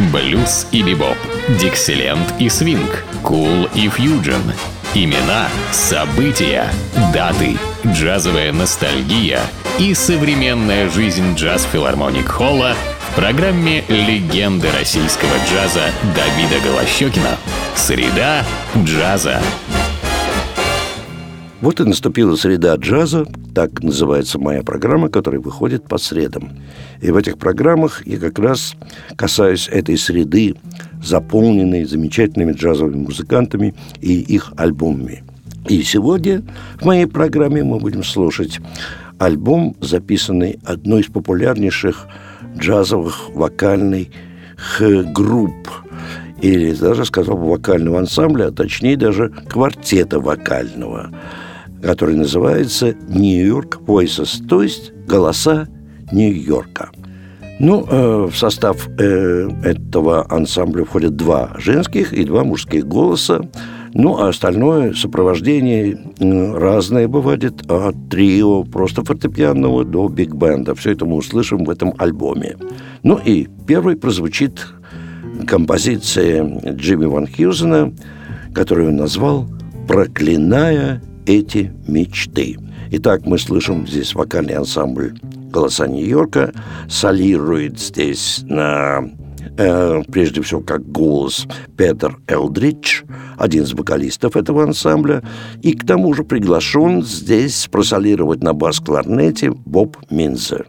Блюз и бибоп, диксиленд и свинг, кул и фьюджен. Имена, события, даты, джазовая ностальгия и современная жизнь джаз-филармоник Холла в программе «Легенды российского джаза» Давида Голощёкина. Среда джаза. Вот и наступила среда джаза, так называется моя программа, которая выходит по средам. И в этих программах я как раз касаюсь этой среды, заполненной замечательными джазовыми музыкантами и их альбомами. И сегодня в моей программе мы будем слушать альбом, записанный одной из популярнейших джазовых вокальных групп, или даже, сказал бы, вокального ансамбля, а точнее даже квартета вокального, который называется New York Voices, то есть «Голоса Нью-Йорка». В состав этого ансамбля входят 2 женских и 2 мужских голоса, а остальное сопровождение разное бывает, от трио просто фортепианного до биг-бенда. Все это мы услышим в этом альбоме. И первой прозвучит композиция Джимми Ван Хьюзена, которую он назвал «Проклиная эти мечты». Итак, мы слышим здесь вокальный ансамбль «Голоса Нью-Йорка». Солирует здесь прежде всего как голос Петер Элдридж, один из вокалистов этого ансамбля, и к тому же приглашен здесь просолировать на бас-кларнете Боб Минзер.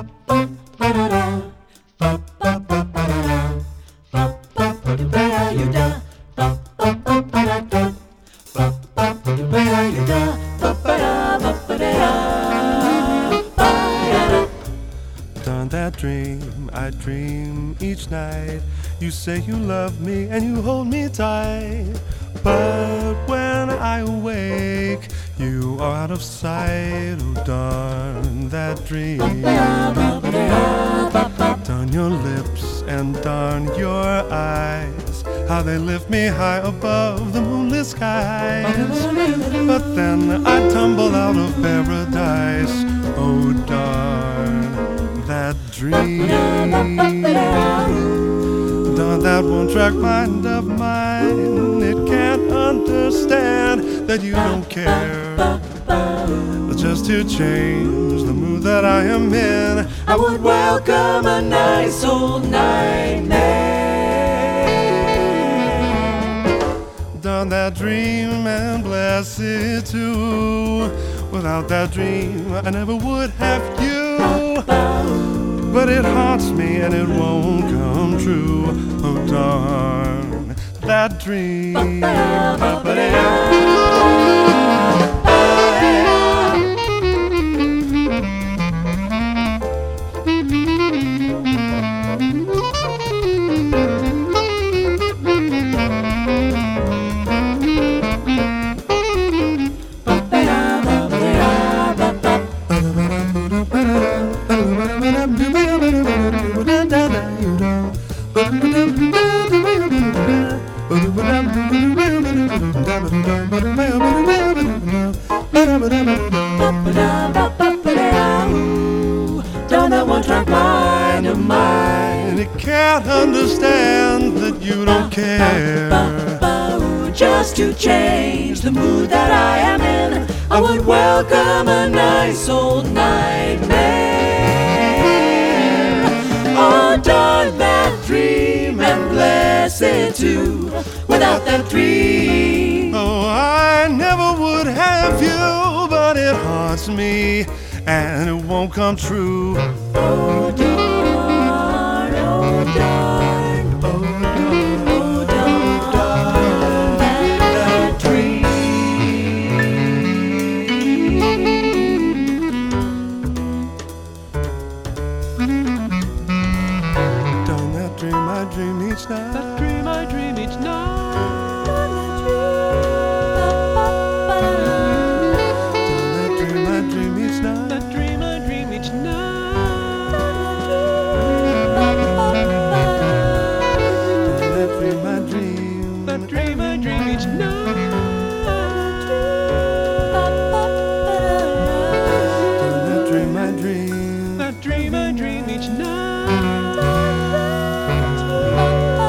That dream I dream each night. You say you love me and you hold me tight, but when I awake, you are out of sight. Oh, darn that dream. Darn your lips and darn your eyes, how they lift me high above the moonlit skies. But then I tumble out of paradise. Oh, darn that dream. Darn that one-track mind of mine. It can't understand that you don't care. Just to change the mood that I am in, I would welcome a nice old nightmare. Darn that dream and bless it too. Without that dream, I never would have you. But it haunts me and it won't come true. Oh, darn that dream. Don't that one-track mind of mine. It can't understand that you don't care. Just to change the mood that I am in, I would welcome a nice old nightmare. Oh, darn that dream and bless it too. Without that dream, oh, I never would have you. But it haunts me and it won't come true. Oh, darn, oh, darn, oh, darn, oh, darn, that dream. Darn that dream I dream each night. That dream I dream each night. That dream I dream each night.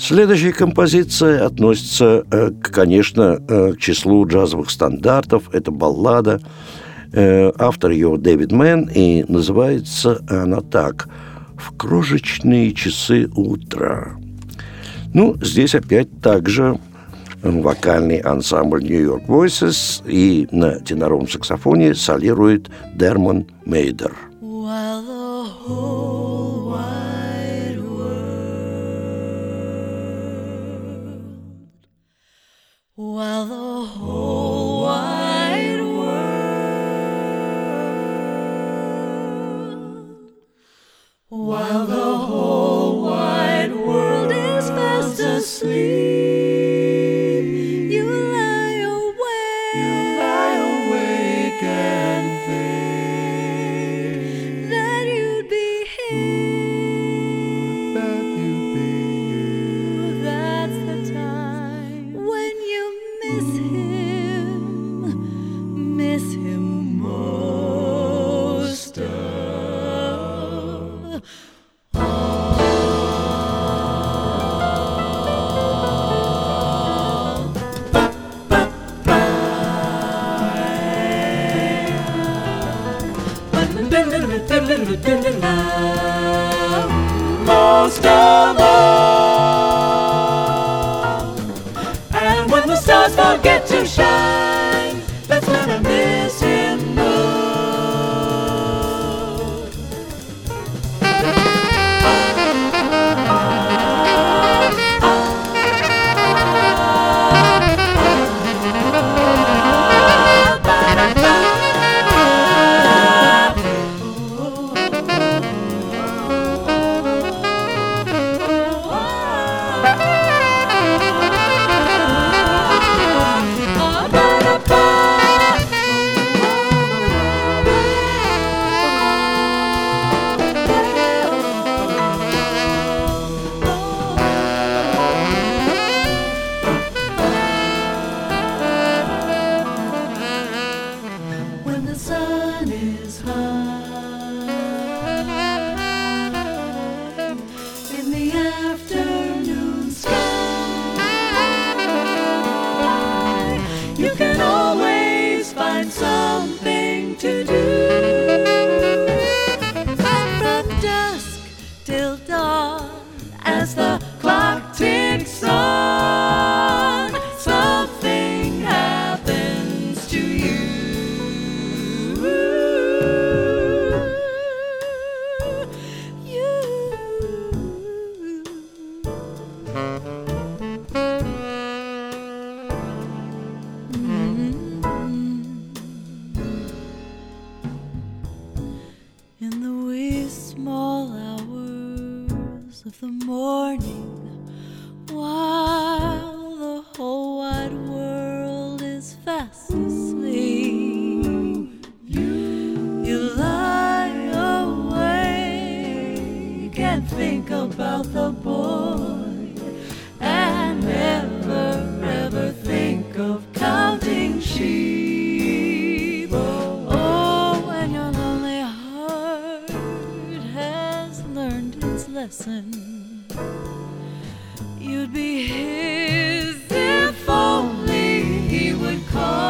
Следующая композиция относится, конечно, к числу джазовых стандартов. Это баллада. Автор ее Дэвид Мэн, и называется она так: «В крошечные часы утра». Ну, здесь опять также вокальный ансамбль New York Voices, и на теноровом саксофоне солирует Дермон Мейдер. While the whole wide world, while the whole wide world is fast asleep, you lie awake and think that you'd be here, that's the time when you miss him most of all. Most of all. And when the stars forget to shine, that's when I miss him most. When the sun is high in the afternoon sky, you can always find something to do. And from dusk till dawn, as the clock ticks on, something happens to you. In the wee small hours of the morning, while the whole wide world is fast asleep, you lie awake and think about the boy, and never ever think of counting sheep. Oh, when your lonely heart has learned its lesson, you'd be his if only he would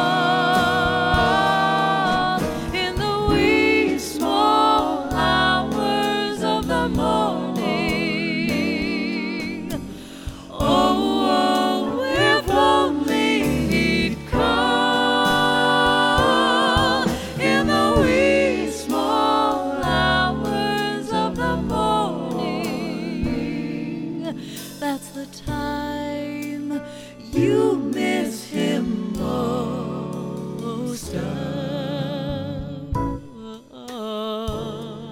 call in the wee small hours of the morning. Oh, if only he'd call in the wee small hours of the morning. That's the time you miss him most of all.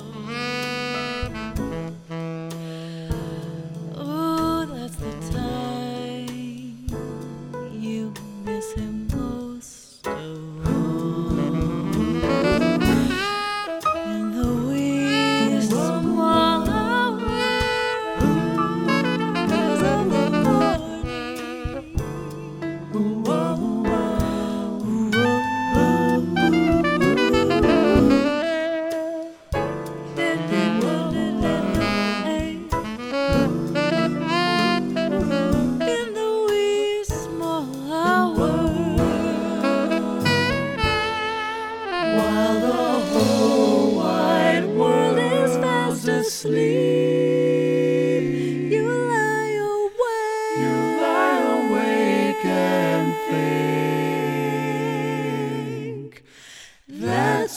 Oh, that's the time you miss him most of all. In the wee small hours of the morning.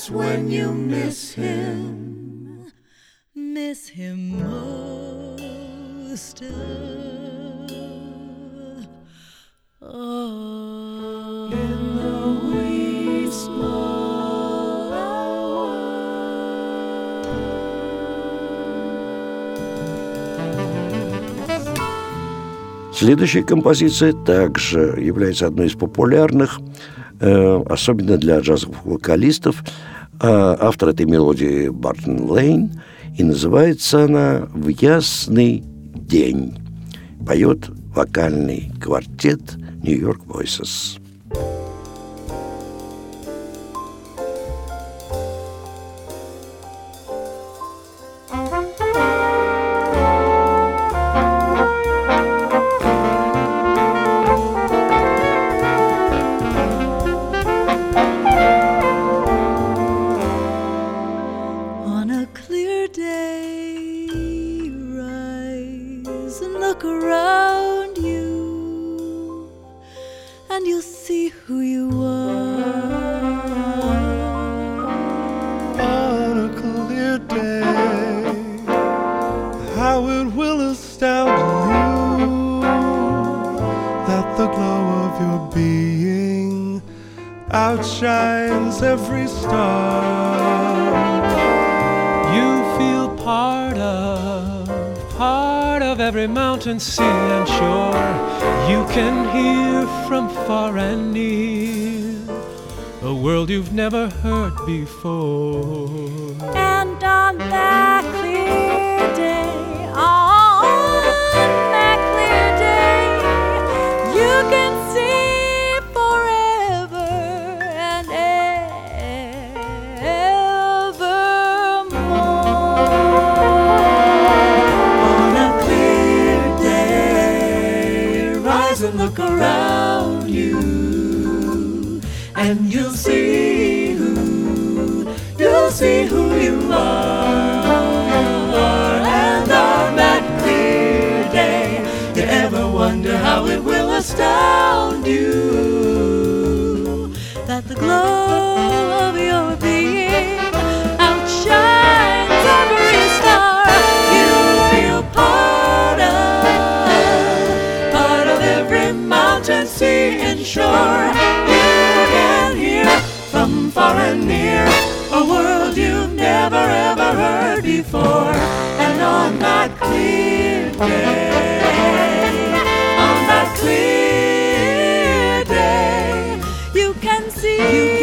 that's when you miss him. Miss him most of all. In the wee small hours. Следующая композиция также является одной из популярных, особенно для джазовых вокалистов. Автор этой мелодии Бартон Лейн, и называется она «В ясный день». Поет вокальный квартет New York Voices. Look around you, and you'll see who you are. On a clear day, how it will astound you that the glow of your being outshines every star. You feel part of every mountain, sea and shore. You can hear from far and near a world you've never heard before. And on that clear day, you can see forever and And look around you, and you'll see who you are. And on that clear day, you ever wonder how it will astound you that the glow of your being outshines every star. You feel part of every mountain, sea and shore. You can hear from far and near a world you've never ever heard before. And on that clear day, you can see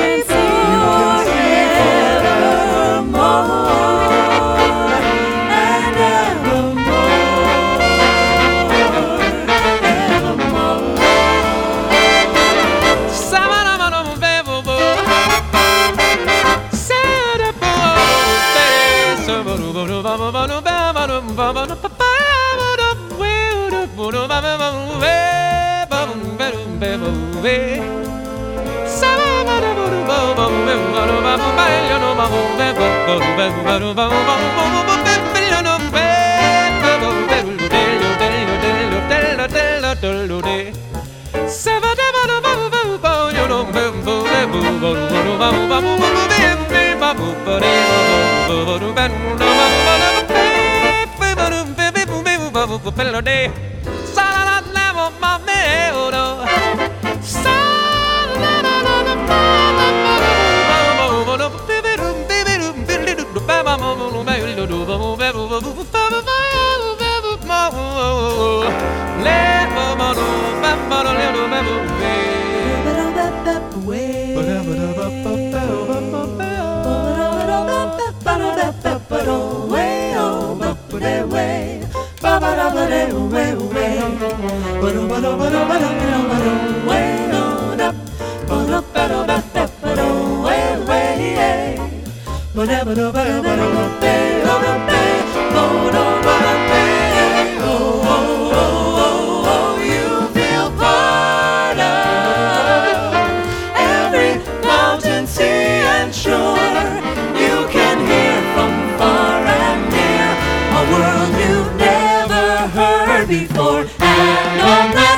before. And on that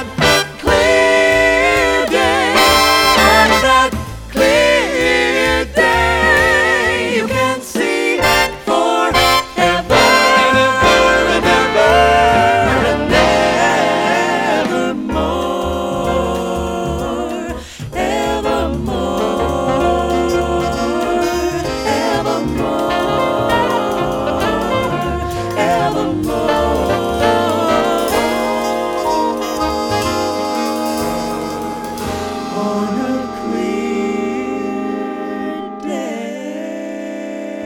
clear day, on a clear day.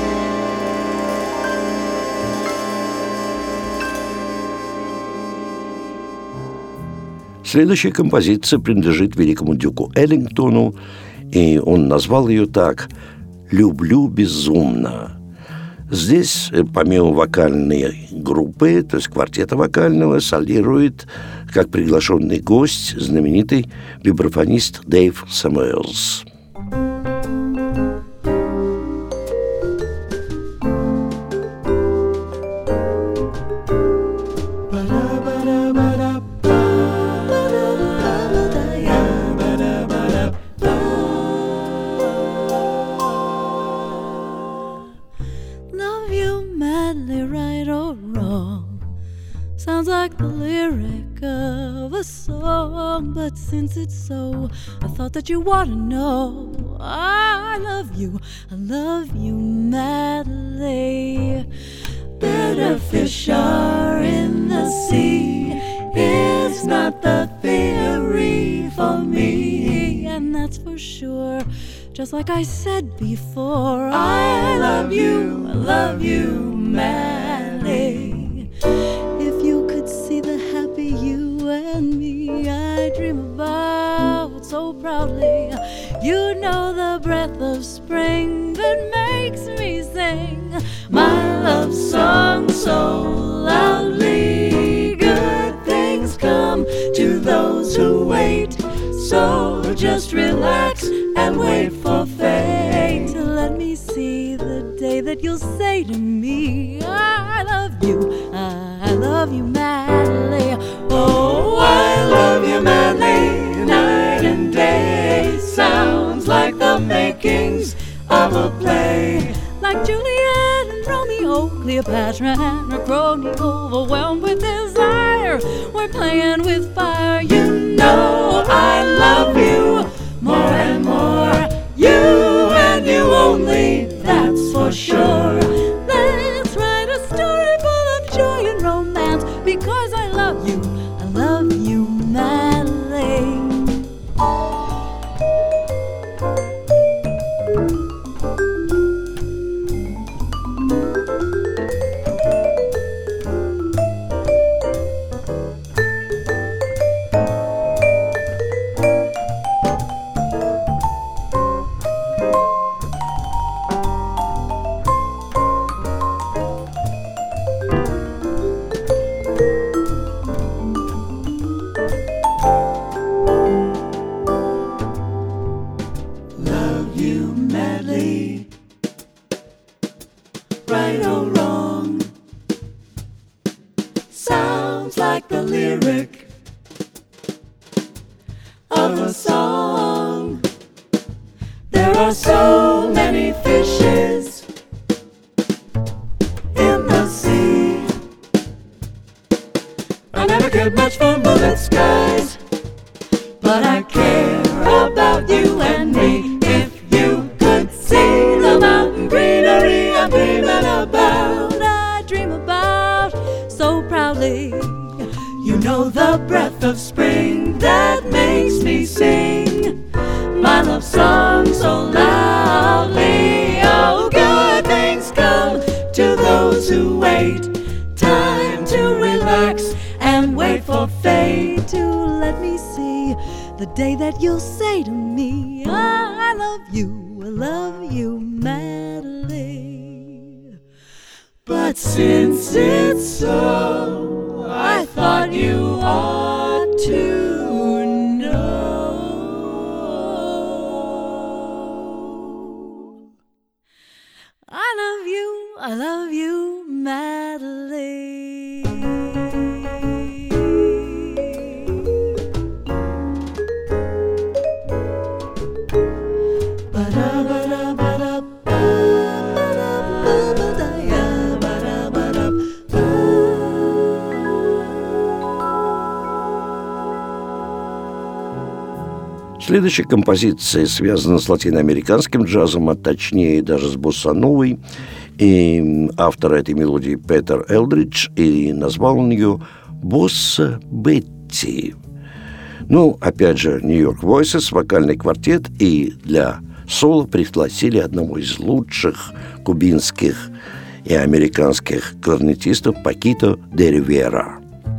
Следующая композиция принадлежит великому дюку Эллингтону, и он назвал ее так «Люблю безумно». Здесь, помимо вокальной группы, то есть квартета вокального, солирует, как приглашенный гость, знаменитый вибрафонист Дэйв Сэмюэлс. Sounds like the lyric of a song, but since it's so, I thought that you ought to know I love you madly. Better fish are in the sea, it's not the theory for me, and that's for sure. Just like I said before, I love you madly. If you could see the happy you and me I dream about so proudly, you know the breath of spring that makes me sing my love song so loudly. Good things come to those who wait, so just relax and wait for fate to let me see the day that you'll say to me I love you madly. Oh, I love you madly, night and day. Sounds like the makings of a play, like Juliet and Romeo, Cleopatra and her crony, overwhelmed with desire. We're playing with fire. You know I love you more and more. You and you only, that's for sure. Let's write a story full of joy and romance, because I love you madly. Right or wrong, sounds like the lyric of a song. There are so many fishes in the sea. I never cared much for moonlit skies, but I care about you and me. If you could see the mountain greenery I'm dreaming about, I dream about so proudly. You know the breath of spring that makes me sing my love song so loudly. Oh, good things come to those who wait. Time to relax and wait for fate to let me see the day that you'll say to me I love you madly. But since it's so, I thought you ought to know I love you madly. Следующая композиция связана с латиноамериканским джазом, а точнее даже с боссановой. И автор этой мелодии Петер Элдридж, и назвал он ее «Босса Бетти». Ну, опять же, New York Voices, вокальный квартет, и для соло пригласили одного из лучших кубинских и американских кларнетистов Пакито де Ривера.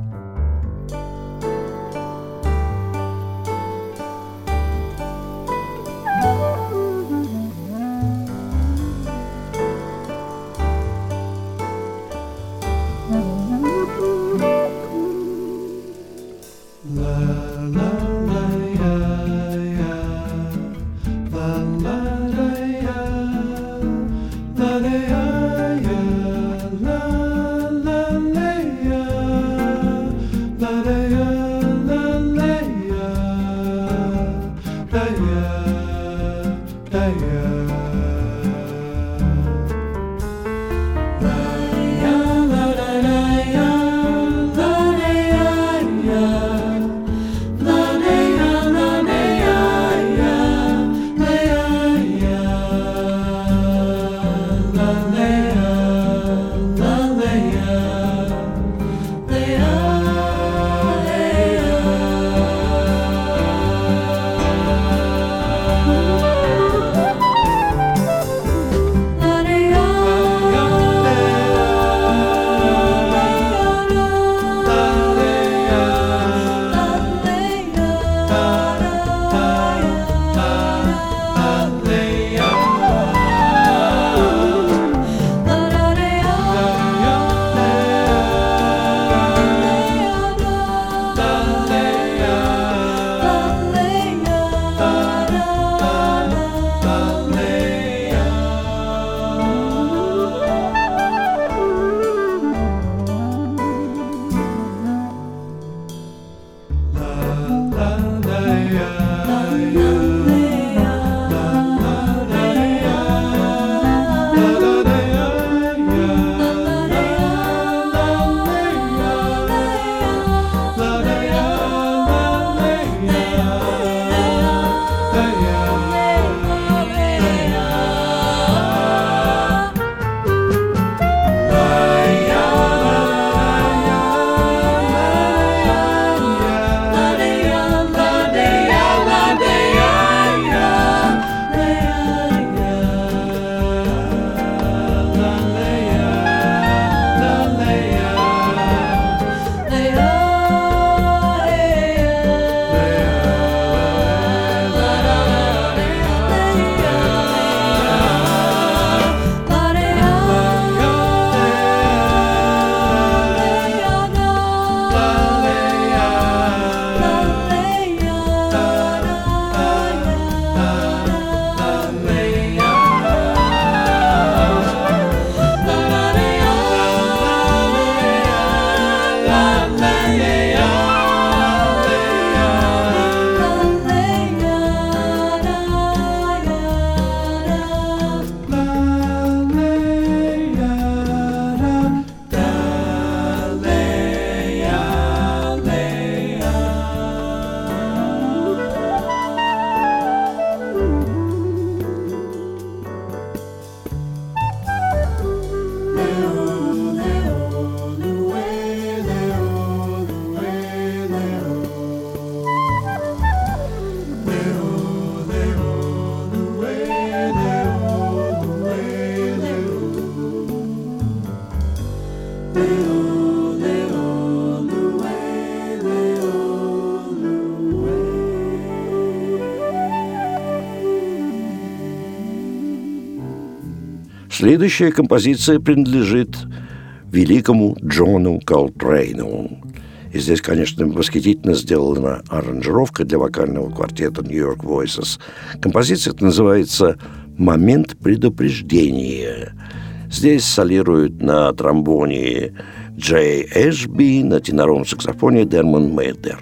Следующая композиция принадлежит великому Джону Колтрейну. И здесь, конечно, восхитительно сделана аранжировка для вокального квартета New York Voices. Композиция называется «Момент предупреждения». Здесь солируют на тромбоне Джей Эшби, на теноровом саксофоне Дермон Мейдер.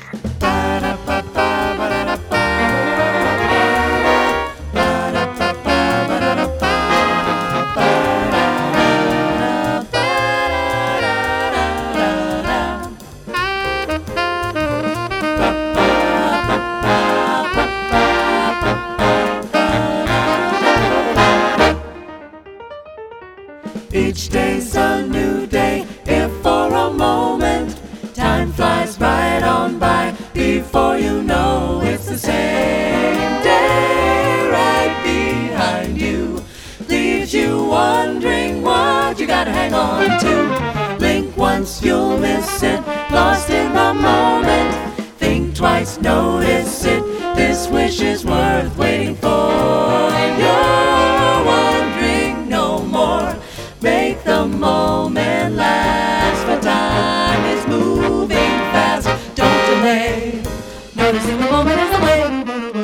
Each day's a new day, if for a moment time flies right on by. Before you know hang on to. Blink once, you'll miss it, lost in the moment. Think twice, notice it, this wish is worth waiting for. You're wondering no more, make the moment last, for time is moving fast, don't delay, noticing the moment is the way.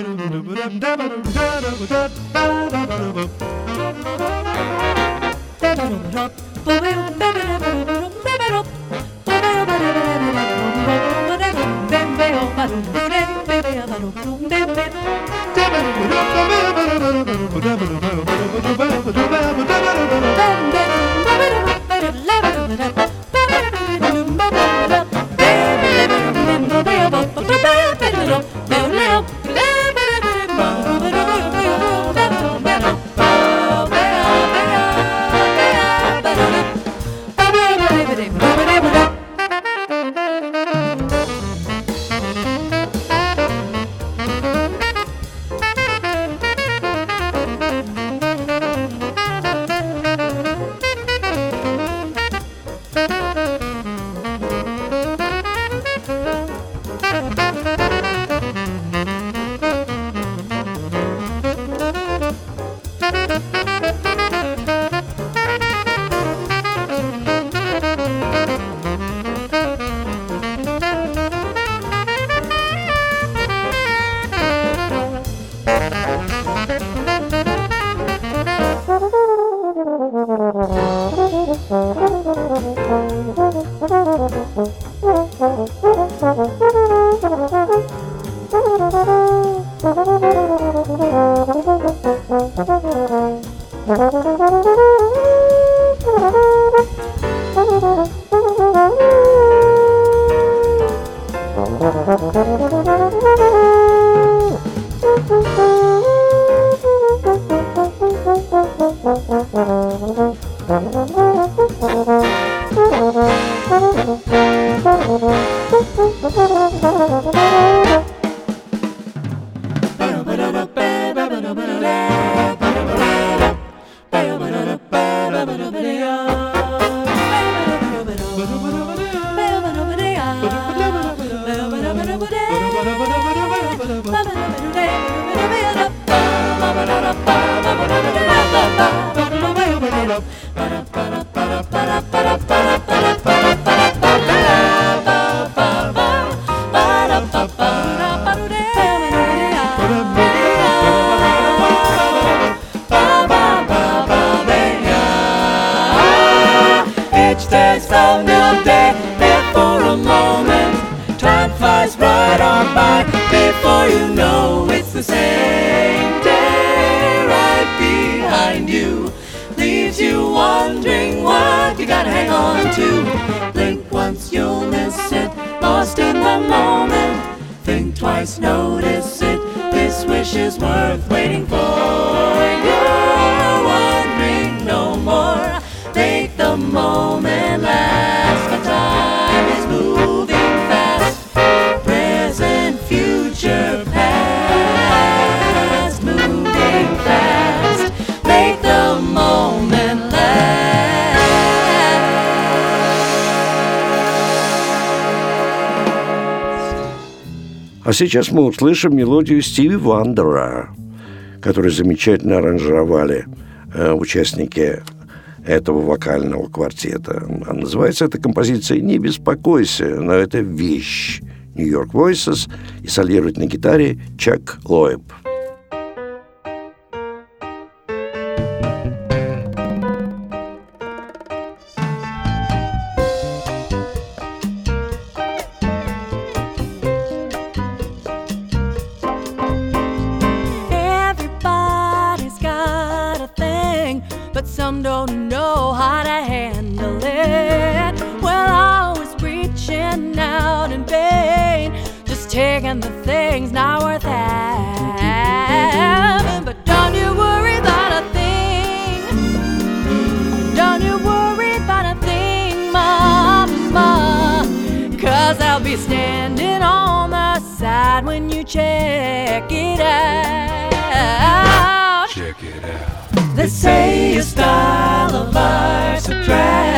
А сейчас мы услышим мелодию Стиви Вандера, которую замечательно аранжировали участники этого вокального квартета. А называется эта композиция «Не беспокойся», но это вещь. New York Voices, и солирует на гитаре Чак Лоэб. Some don't know how to handle it. Well, always reaching out in vain, just taking the things not worth having. But don't you worry about a thing. Don't you worry about a thing, Mama, 'cause I'll be standing on the side when you check it out. Check it out. They say your style of art's a drag.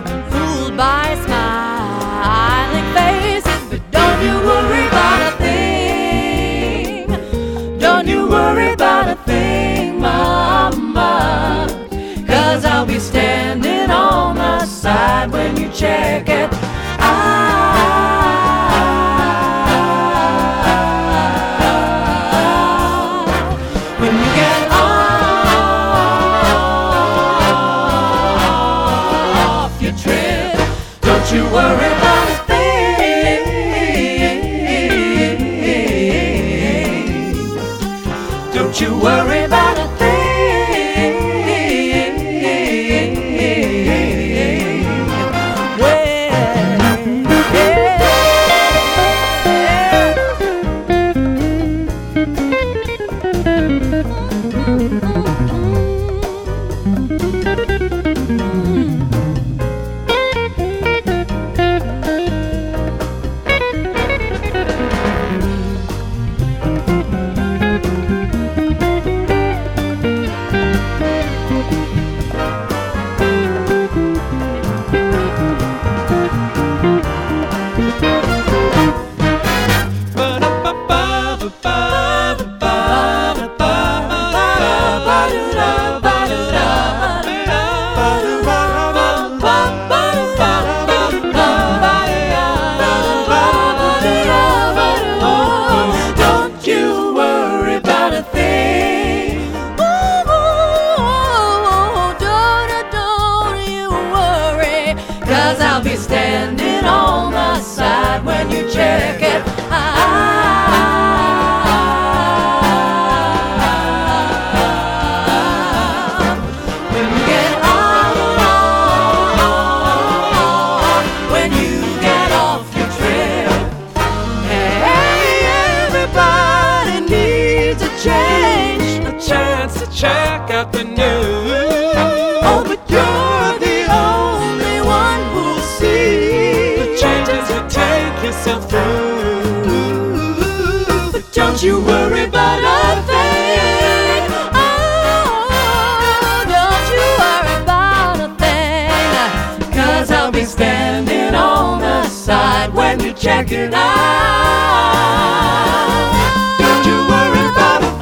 get fooled by smiling faces. But don't you worry about a thing. Don't you worry about a thing, Mama. 'Cause I'll be standing on the side when you check it out. When you get off your trip, don't you worry about a thing. Don't you worry about a thing. Check out the news. Oh, but you're the only one who'll see the changes you take yourself through. But don't you worry about a thing. Oh, don't you worry about a thing. 'Cause I'll be standing on the side when you check it out. Don't you worry about a thing.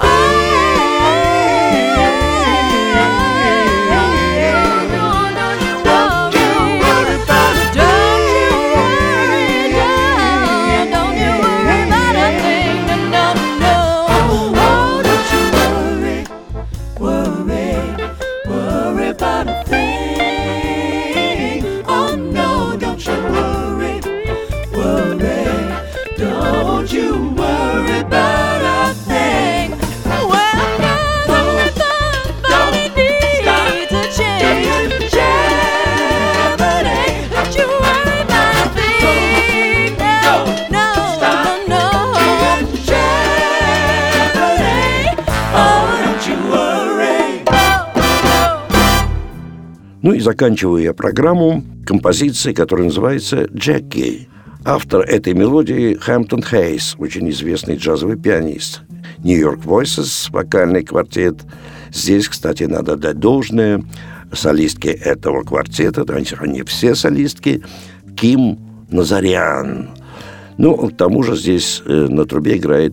Ну и заканчиваю я программу композицией, которая называется «Джеки». Автор этой мелодии Хэмптон Хейс, очень известный джазовый пианист. New York Voices, вокальный квартет. Здесь, кстати, надо дать должное солистке этого квартета, они все солистки, Ким Назарян. Ну, к тому же здесь на трубе играет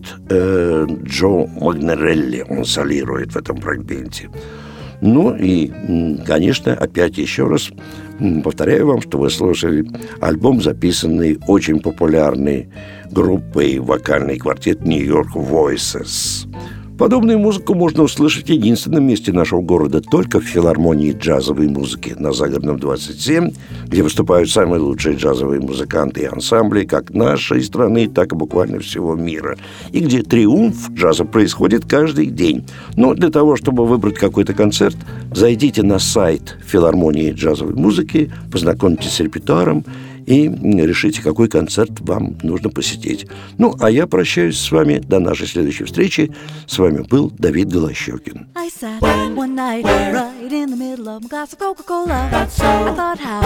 Джо Магнерелли, он солирует в этом фрагменте. Ну и, конечно, опять еще раз повторяю вам, что вы слушали альбом, записанный очень популярной группой вокальный квартет New York Voices. Подобную музыку можно услышать в единственном месте нашего города, только в филармонии джазовой музыки на Загородном 27, где выступают самые лучшие джазовые музыканты и ансамбли как нашей страны, так и буквально всего мира. И где триумф джаза происходит каждый день. Но для того, чтобы выбрать какой-то концерт, зайдите на сайт филармонии джазовой музыки, познакомьтесь с репертуаром и решите, какой концерт вам нужно посетить. Ну, а я прощаюсь с вами до нашей следующей встречи. С вами был Давид Голощёкин. I sat one night right in the middle of my glass of Coca-Cola. I thought how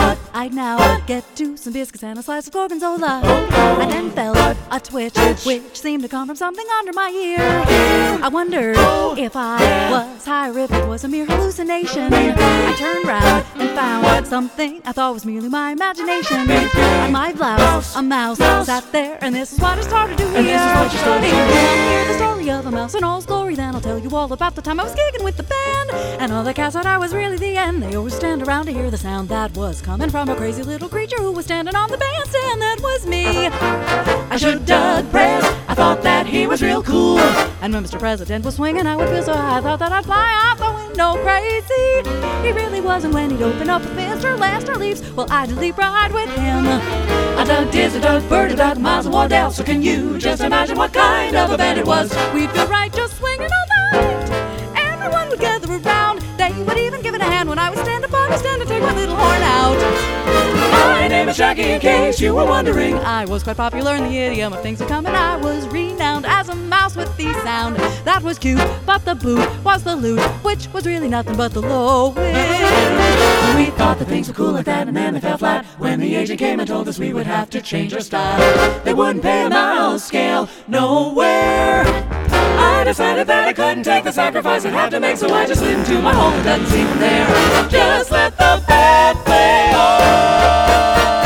I'd now get to some biscuits and a slice of gorgonzola. I then felt a twitch, which seemed to come from something under my ear. I wondered if I was high or if it was a mere hallucination. I turned round and found something I thought was merely my imagination. On my blouse, a mouse sat there, and this is what I started to hear. And this is what you started to hear. Hear the story of a mouse in all its glory. Then I'll tell you all about the time I was gigging with the band, and all the cats thought I was really the end. They always stand around to hear the sound that was coming from a crazy little creature who was standing on the bandstand. That was me. I should dug Prez. I thought that he was real cool. And when Mr. President was swinging, I would feel so high, I thought that I'd fly off the window crazy. He really wasn't when he'd open up with Mr. Lester Leaves. Well, I'd leap right with him. I dug Diz, I dug Bird, I dug Miles and Wardell. So can you just imagine what kind of a band it was? We'd feel right just swinging all night. Everyone would gather around. They would even give it a hand when I would stand up on the stand and take my little horn out. My name is Jackie, in case you were wondering. I was quite popular in the idiom of things to come, and I was renowned as a mouse with the sound that was cute, but the boot was the lute, which was really nothing but the low wind. We thought that things were cool like that, and then they fell flat when the agent came and told us we would have to change our style. They wouldn't pay a mouse scale nowhere. I decided that I couldn't take the sacrifice I'd have to make, so I just slid into my hole and doesn't seem from there. Just let the band play on.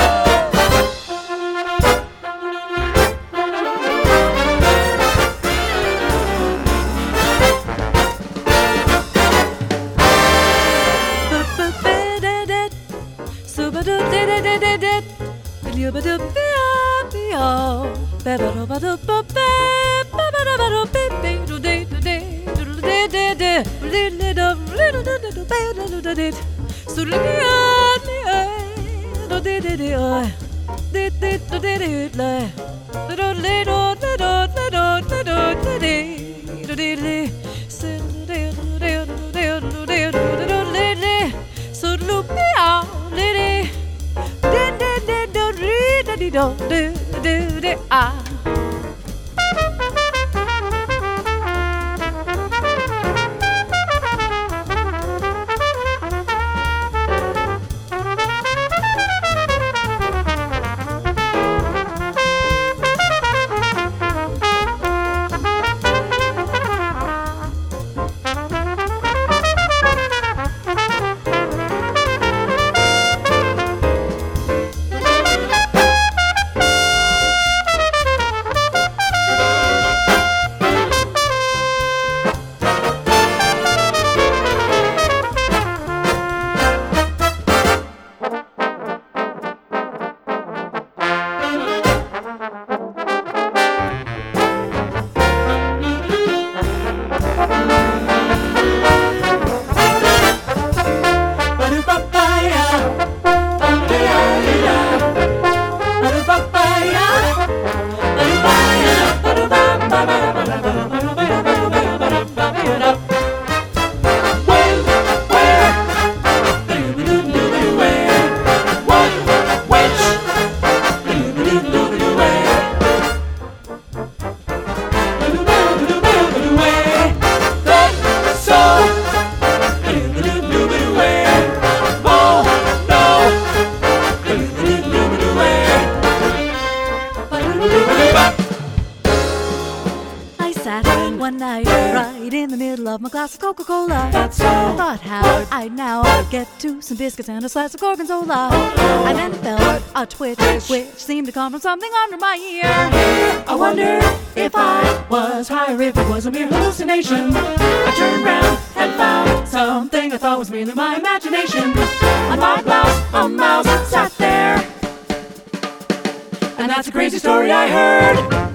One night, right in the middle of my glass of Coca-Cola, That's so I thought how I'd now get to some biscuits and a slice of gorgonzola. I then felt a twitch, which seemed to come from something under my ear. I wondered if I was high or if it was a mere hallucination. I turned round and found something I thought was merely my imagination. On my blouse, a mouse sat there, and that's a crazy story I heard.